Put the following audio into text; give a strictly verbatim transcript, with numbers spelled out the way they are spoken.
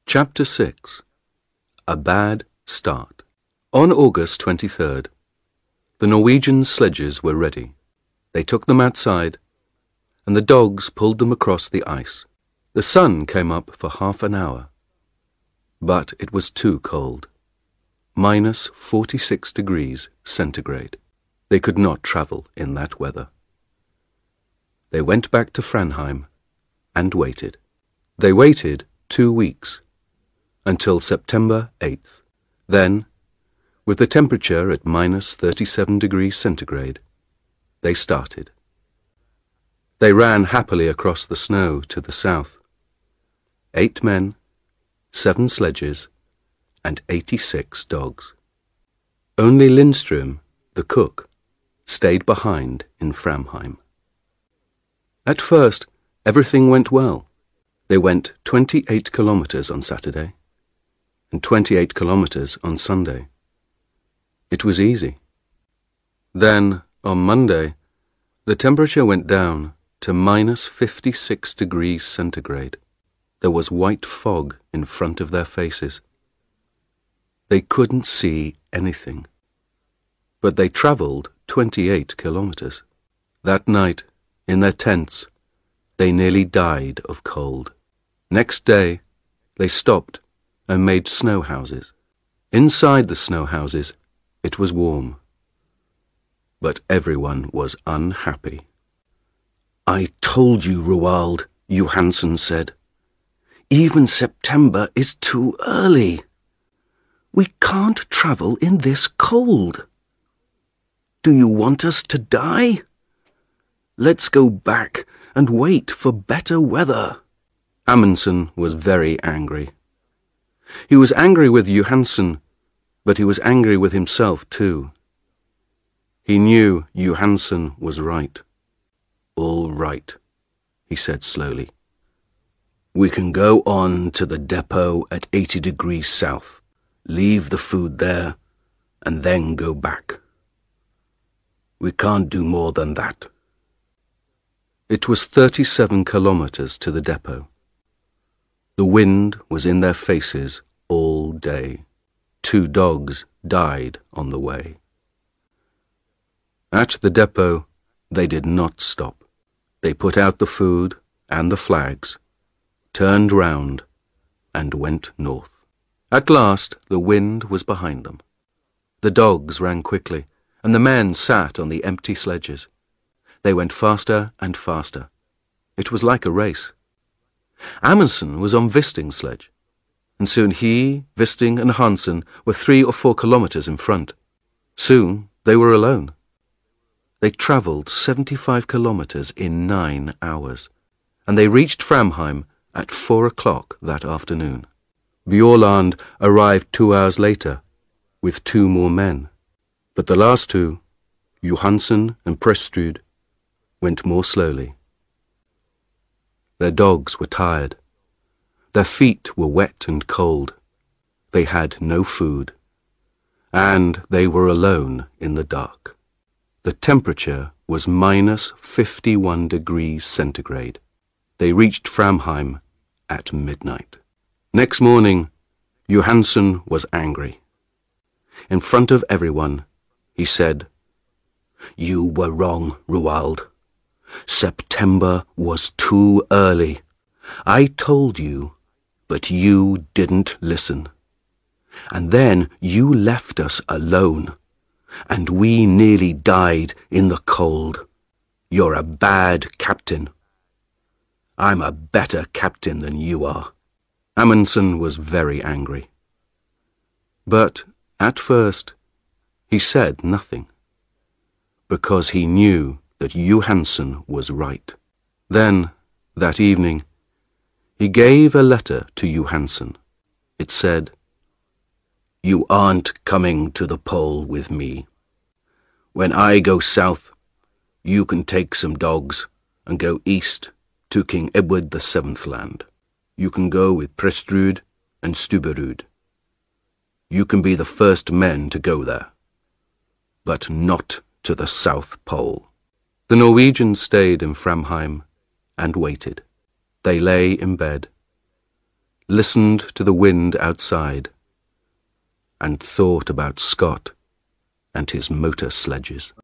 Chapter six. A Bad Start. On August twenty-third, the Norwegian sledges were ready. They took them outside, and the dogs pulled them across the ice. The sun came up for half an hour, but it was too cold. Minus forty-six degrees centigrade. They could not travel in that weather. They went back to Framheim and waited. They waited two weeks, until September eighth. Then, with the temperature at minus thirty-seven degrees centigrade, they started. They ran happily across the snow to the south. Eight men, seven sledges, and eighty-six dogs. Only Lindström, the cook, stayed behind in Framheim. At first, everything went well. They went twenty-eight kilometers on Saturday and twenty-eight kilometers on Sunday. It was easy. Then, on Monday, the temperature went down to minus fifty-six degrees centigrade. There was white fog in front of their faces. They couldn't see anything. But they travelled twenty-eight kilometers. That night, in their tents, they nearly died of cold. Next day, they stopped and made snow houses. Inside the snow houses, it was warm. But everyone was unhappy. "I told you, Roald," Johansen said. "Even September is too early. We can't travel in this cold. Do you want us to die? Let's go back and wait for better weather." Amundsen was very angry. He was angry with Johansen, but he was angry with himself too. He knew Johansen was right. "All right," he said slowly. "We can go on to the depot at eighty degrees south, leave the food there, and then go back. We can't do more than that." It was thirty-seven kilometers to the depot. The wind was in their faces all day. Two dogs died on the way. At the depot, they did not stop. They put out the food and the flags, turned round, and went north. At last, the wind was behind them. The dogs ran quickly, and the men sat on the empty sledges. They went faster and faster. It was like a race. Amundsen was on Wisting's sledge, and soon he, Wisting, and Hansen were three or four kilometers in front. Soon they were alone. They travelled seventy-five kilometers in nine hours, and they reached Framheim at four o'clock that afternoon. Bjaaland arrived two hours later, with two more men, but the last two, Johansen and Prestrud, went more slowly. Their dogs were tired. Their feet were wet and cold. They had no food. And they were alone in the dark. The temperature was minus fifty-one degrees centigrade. They reached Framheim at midnight. Next morning, Johansen was angry. In front of everyone, he said, "You were wrong, Roald. September was too early. I told you, but you didn't listen. And then you left us alone, and we nearly died in the cold. You're a bad captain. I'm a better captain than you are." Amundsen was very angry. But at first, he said nothing, because he knew that Johansen was right. Then, that evening, he gave a letter to Johansen. It said, "You aren't coming to the pole with me. When I go south, you can take some dogs and go east to King Edward the Seventh land. You can go with Prestrud and Stubberud. You can be the first men to go there, but not to the South Pole." The Norwegians stayed in Framheim and waited. They lay in bed. listened to the wind outside, and thought about Scott and his motor sledges.